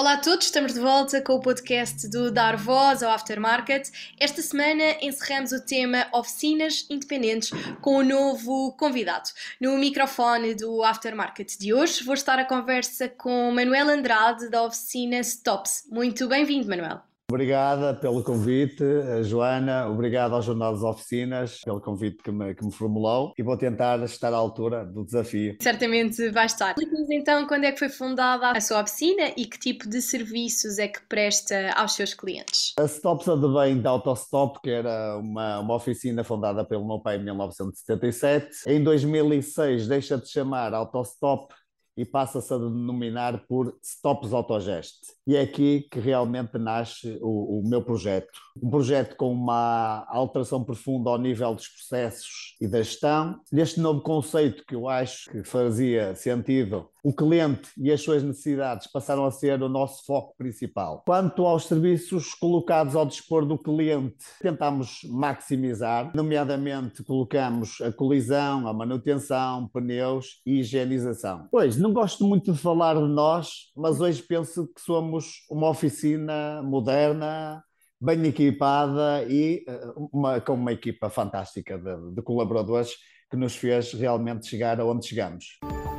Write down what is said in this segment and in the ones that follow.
Olá a todos, estamos de volta com o podcast do Dar Voz ao Aftermarket. Esta semana encerramos o tema Oficinas Independentes com um novo convidado. No microfone do Aftermarket de hoje vou estar à conversa com Manuel Andrade da oficina Stops. Muito bem-vindo, Manuel. Obrigada pelo convite, Joana. Obrigado ao Jornal das Oficinas pelo convite que me formulou e vou tentar estar à altura do desafio. Certamente vai estar. Explique-nos então quando é que foi fundada a sua oficina e que tipo de serviços é que presta aos seus clientes. A Stops advém da Autostop, que era uma oficina fundada pelo meu pai em 1977. Em 2006 deixa de chamar Autostop e passa-se a denominar por Stops Autogest. E é aqui que realmente nasce o meu projeto. Um projeto com uma alteração profunda ao nível dos processos e da gestão. Neste novo conceito que eu acho que fazia sentido, o cliente e as suas necessidades passaram a ser o nosso foco principal. Quanto aos serviços colocados ao dispor do cliente, tentamos maximizar, nomeadamente colocamos a colisão, a manutenção, pneus e higienização. Pois, não gosto muito de falar de nós, mas hoje penso que somos uma oficina moderna, bem equipada e com uma equipa fantástica de colaboradores que nos fez realmente chegar aonde chegamos.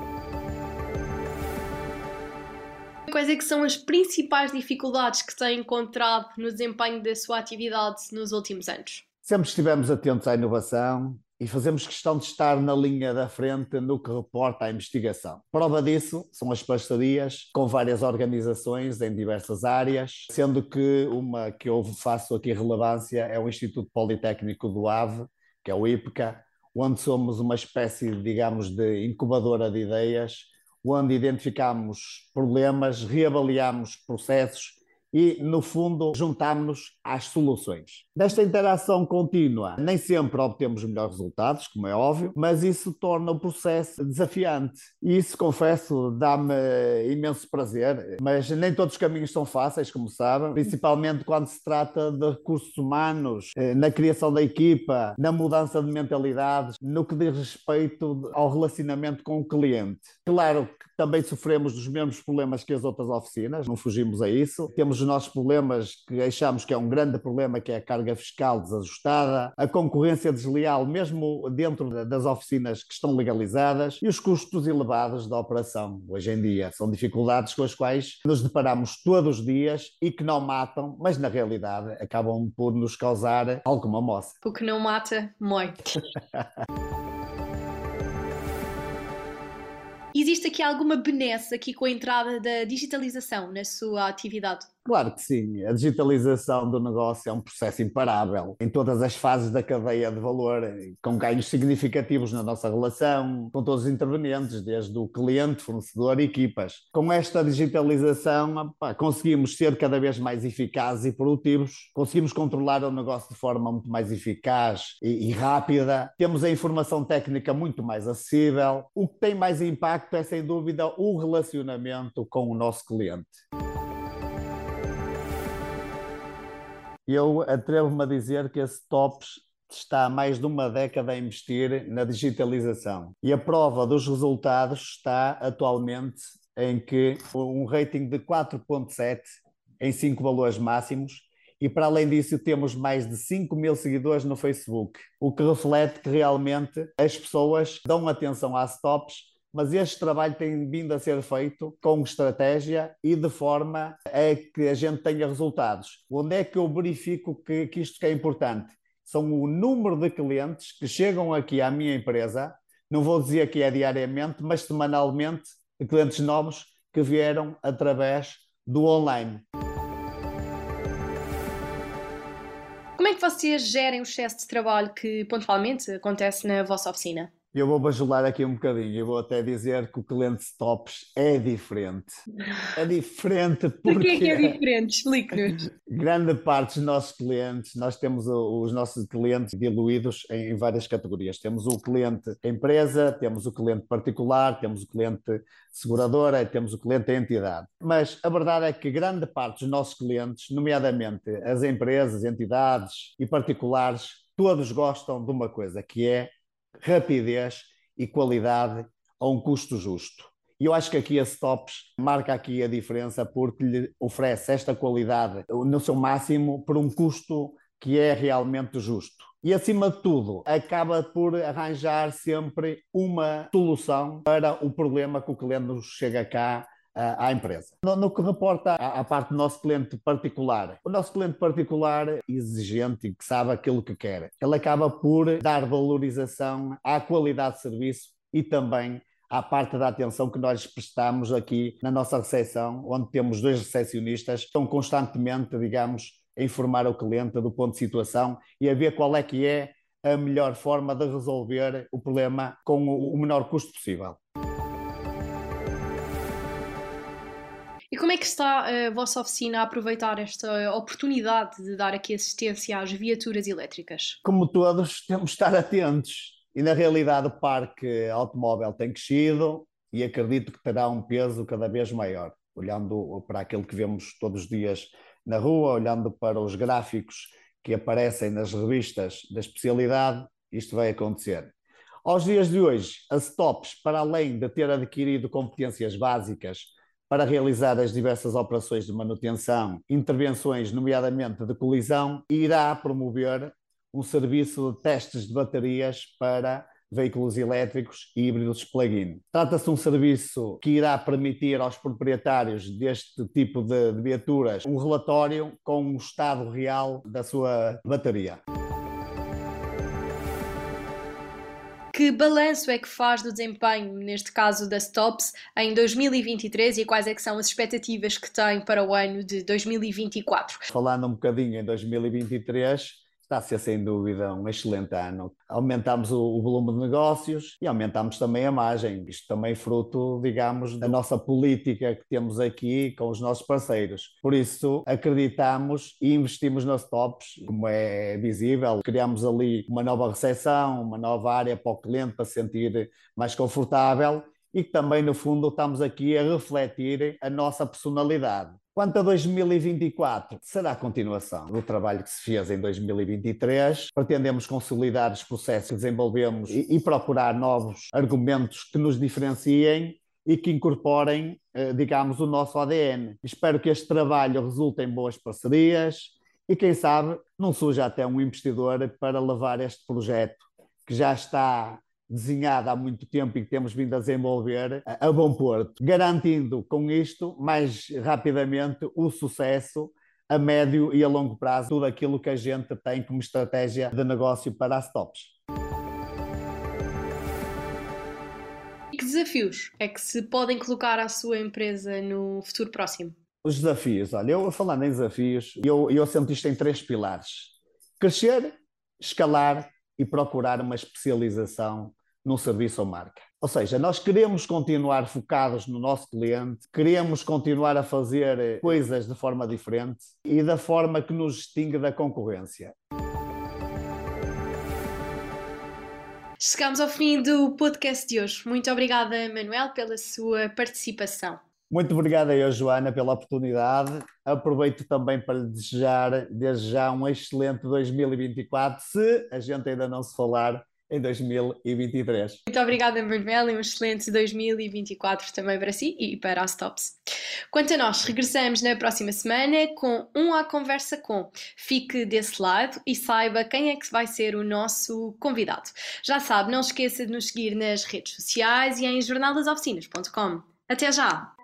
Quais é que são as principais dificuldades que tem encontrado no desempenho da sua atividade nos últimos anos? Sempre estivemos atentos à inovação e fazemos questão de estar na linha da frente no que reporta à investigação. Prova disso são as parcerias com várias organizações em diversas áreas, sendo que uma que eu faço aqui relevância é o Instituto Politécnico do Ave, que é o IPCA, onde somos uma espécie, digamos, de incubadora de ideias, onde identificamos problemas, reavaliamos processos e, no fundo, juntámos-nos às soluções. Desta interação contínua, nem sempre obtemos melhores resultados, como é óbvio, mas isso torna o processo desafiante. E isso, confesso, dá-me imenso prazer, mas nem todos os caminhos são fáceis, como sabem, principalmente quando se trata de recursos humanos, na criação da equipa, na mudança de mentalidades, no que diz respeito ao relacionamento com o cliente. Claro que também sofremos dos mesmos problemas que as outras oficinas, não fugimos a isso. Temos os nossos problemas que achamos que é um grande problema, que é a carga fiscal desajustada, a concorrência desleal, mesmo dentro das oficinas que estão legalizadas, e os custos elevados da operação. Hoje em dia são dificuldades com as quais nos deparamos todos os dias e que não matam, mas na realidade acabam por nos causar alguma moça. O que não mata, mói. Existe aqui alguma benesse aqui com a entrada da digitalização na sua atividade? Claro que sim, a digitalização do negócio é um processo imparável em todas as fases da cadeia de valor, com ganhos significativos na nossa relação com todos os intervenientes, desde o cliente, fornecedor e equipas. Com esta digitalização, conseguimos ser cada vez mais eficazes e produtivos, conseguimos controlar o negócio de forma muito mais eficaz e rápida, temos a informação técnica muito mais acessível. O que tem mais impacto é, sem dúvida, o relacionamento com o nosso cliente. Eu atrevo-me a dizer que a Stops está há mais de uma década a investir na digitalização. E a prova dos resultados está atualmente em que um rating de 4,7 em 5 valores máximos, e para além disso temos mais de 5.000 seguidores no Facebook, o que reflete que realmente as pessoas dão atenção às Stops, mas este trabalho tem vindo a ser feito com estratégia e de forma a que a gente tenha resultados. Onde é que eu verifico que isto que é importante? São o número de clientes que chegam aqui à minha empresa, não vou dizer que é diariamente, mas semanalmente, de clientes novos que vieram através do online. Como é que vocês gerem o excesso de trabalho que pontualmente acontece na vossa oficina? Eu vou bajular aqui um bocadinho, eu vou até dizer que o cliente Stops é diferente. É diferente Porquê que porque é diferente? Explique-nos. grande parte dos nossos clientes, nós temos os nossos clientes diluídos em várias categorias. Temos o cliente empresa, temos o cliente particular, temos o cliente seguradora e temos o cliente entidade. Mas a verdade é que grande parte dos nossos clientes, nomeadamente as empresas, entidades e particulares, todos gostam de uma coisa, que é rapidez e qualidade a um custo justo. E eu acho que aqui a Stops marca aqui a diferença porque lhe oferece esta qualidade no seu máximo por um custo que é realmente justo. E, acima de tudo, acaba por arranjar sempre uma solução para o problema que o cliente nos chega cá à empresa. No que reporta à parte do nosso cliente particular, o nosso cliente particular exigente e que sabe aquilo que quer, ele acaba por dar valorização à qualidade de serviço e também à parte da atenção que nós prestamos aqui na nossa recepção, onde temos 2 recepcionistas que estão constantemente, digamos, a informar o cliente do ponto de situação e a ver qual é que é a melhor forma de resolver o problema com o menor custo possível. E como é que está a vossa oficina a aproveitar esta oportunidade de dar aqui assistência às viaturas elétricas? Como todos, temos de estar atentos. E, na realidade, o parque automóvel tem crescido e acredito que terá um peso cada vez maior. Olhando para aquilo que vemos todos os dias na rua, olhando para os gráficos que aparecem nas revistas da especialidade, isto vai acontecer. Aos dias de hoje, a Stops, para além de ter adquirido competências básicas para realizar as diversas operações de manutenção, intervenções, nomeadamente de colisão, irá promover um serviço de testes de baterias para veículos elétricos e híbridos plug-in. Trata-se de um serviço que irá permitir aos proprietários deste tipo de viaturas um relatório com o estado real da sua bateria. Que balanço é que faz do desempenho, neste caso da Stops, em 2023 e quais é que são as expectativas que tem para o ano de 2024? Falando um bocadinho em 2023, está a ser sem dúvida um excelente ano. Aumentámos o volume de negócios e aumentámos também a margem. Isto também fruto, digamos, da nossa política que temos aqui com os nossos parceiros. Por isso, acreditamos e investimos nas Stops, como é visível. Criamos ali uma nova recepção, uma nova área para o cliente para se sentir mais confortável e que também, no fundo, estamos aqui a refletir a nossa personalidade. Quanto a 2024, será a continuação do trabalho que se fez em 2023. Pretendemos consolidar os processos que desenvolvemos e procurar novos argumentos que nos diferenciem e que incorporem, digamos, o nosso ADN. Espero que este trabalho resulte em boas parcerias e, quem sabe, não surja até um investidor para levar este projeto, que já está desenhada há muito tempo e que temos vindo a desenvolver a bom porto, garantindo com isto mais rapidamente o sucesso a médio e a longo prazo, tudo aquilo que a gente tem como estratégia de negócio para as Stops. E que desafios é que se podem colocar à sua empresa no futuro próximo? Os desafios, olha, eu falando em desafios, eu sento isto em 3 pilares: crescer, escalar e procurar uma especialização num serviço ou marca. Ou seja, nós queremos continuar focados no nosso cliente, queremos continuar a fazer coisas de forma diferente e da forma que nos distingue da concorrência. Chegamos ao fim do podcast de hoje. Muito obrigada, Manuel, pela sua participação. Muito obrigado a eu, Joana, pela oportunidade. Aproveito também para lhe desejar, desde já, um excelente 2024, se a gente ainda não se falar em 2023. Muito obrigada, Manuel, e um excelente 2024 também para si e para a Stops. Quanto a nós, regressamos na próxima semana com À Conversa Com. Fique desse lado e saiba quem é que vai ser o nosso convidado. Já sabe, não esqueça de nos seguir nas redes sociais e em jornaldasoficinas.com. Até já!